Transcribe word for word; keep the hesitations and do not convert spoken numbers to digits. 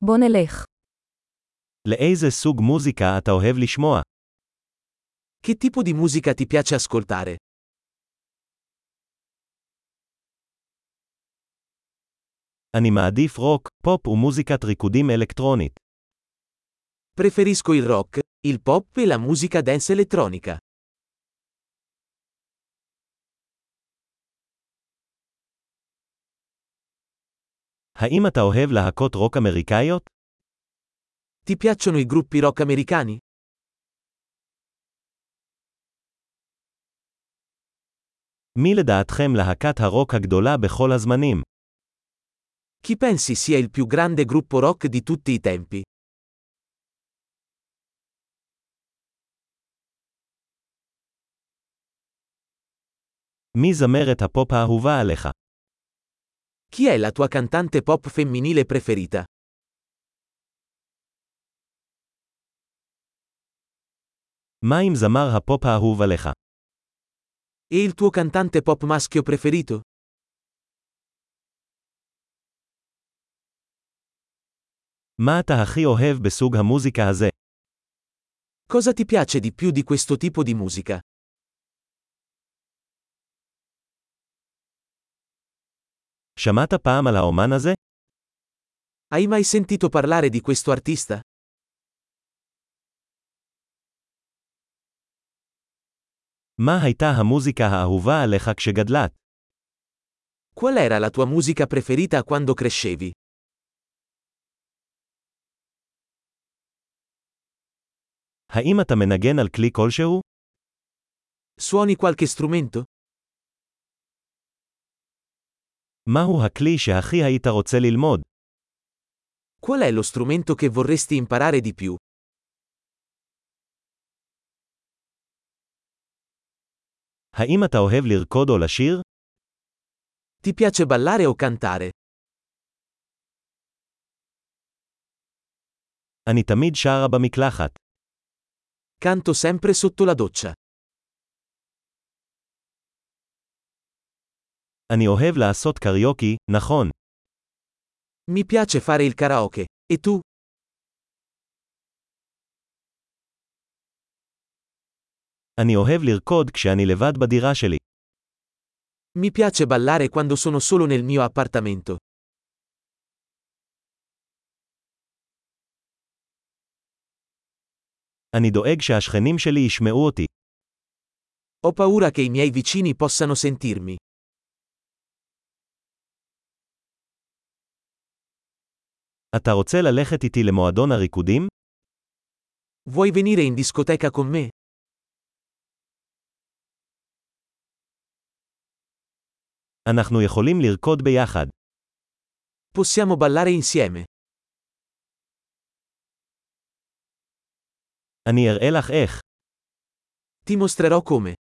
בוא נלך. לאיזה סוג מוזיקה אתה אוהב לשמוע? Che tipo di musica ti piace ascoltare? אני מעדיף רוק, פופ ומוזיקת ריקודים אלקטרונית. Preferisco il rock, il pop e la musica dance elettronica. האם אתה אוהב להקות רוק אמריקאיות? Ti piacciono i gruppi rock americani? מי לדעתכם להקת הרוק הגדולה בכל הזמנים? Chi pensi sia il più grande gruppo rock di tutti i tempi? מי זמרת הפופ האהובה עליך? Chi è la tua cantante pop femminile preferita? מה עם זמר הפופ האהוב עליך? E il tuo cantante pop maschio preferito? מה אתה הכי אוהב בסוג המוזיקה הזה? Cosa ti piace di più di questo tipo di musica? שמעת פעם על האומן הזה? Hai mai sentito parlare di questo artista? מה הייתה המוזיקה האהובה עליך כשגדלת? Qual era la tua musica preferita quando crescevi? האם אתה מנגן על כלי כלשהו? Suoni qualche strumento? מהו הכלי שהכי היית רוצה ללמוד? Qual è lo strumento che vorresti imparare di più? האם אתה אוהב לרקוד או לשיר? Ti piace ballare o cantare? אני תמיד שרה במקלחת. Canto sempre sotto la doccia. אני אוהב לעשות קריוקי, נכון. Mi piace fare il karaoke. E tu? אני אוהב לרקוד כשאני לבד בדירה שלי. Mi piace ballare quando sono solo nel mio appartamento. אני דואג שהשכנים שלי ישמעו אותי. Ho paura che i miei vicini possano sentirmi. אתה רוצה ללכת איתי למועדון הריקודים? Vuoi venire in discoteca con me? אנחנו יכולים לרקוד ביחד. Possiamo ballare insieme. אני אראה לך איך. Ti mostrerò come.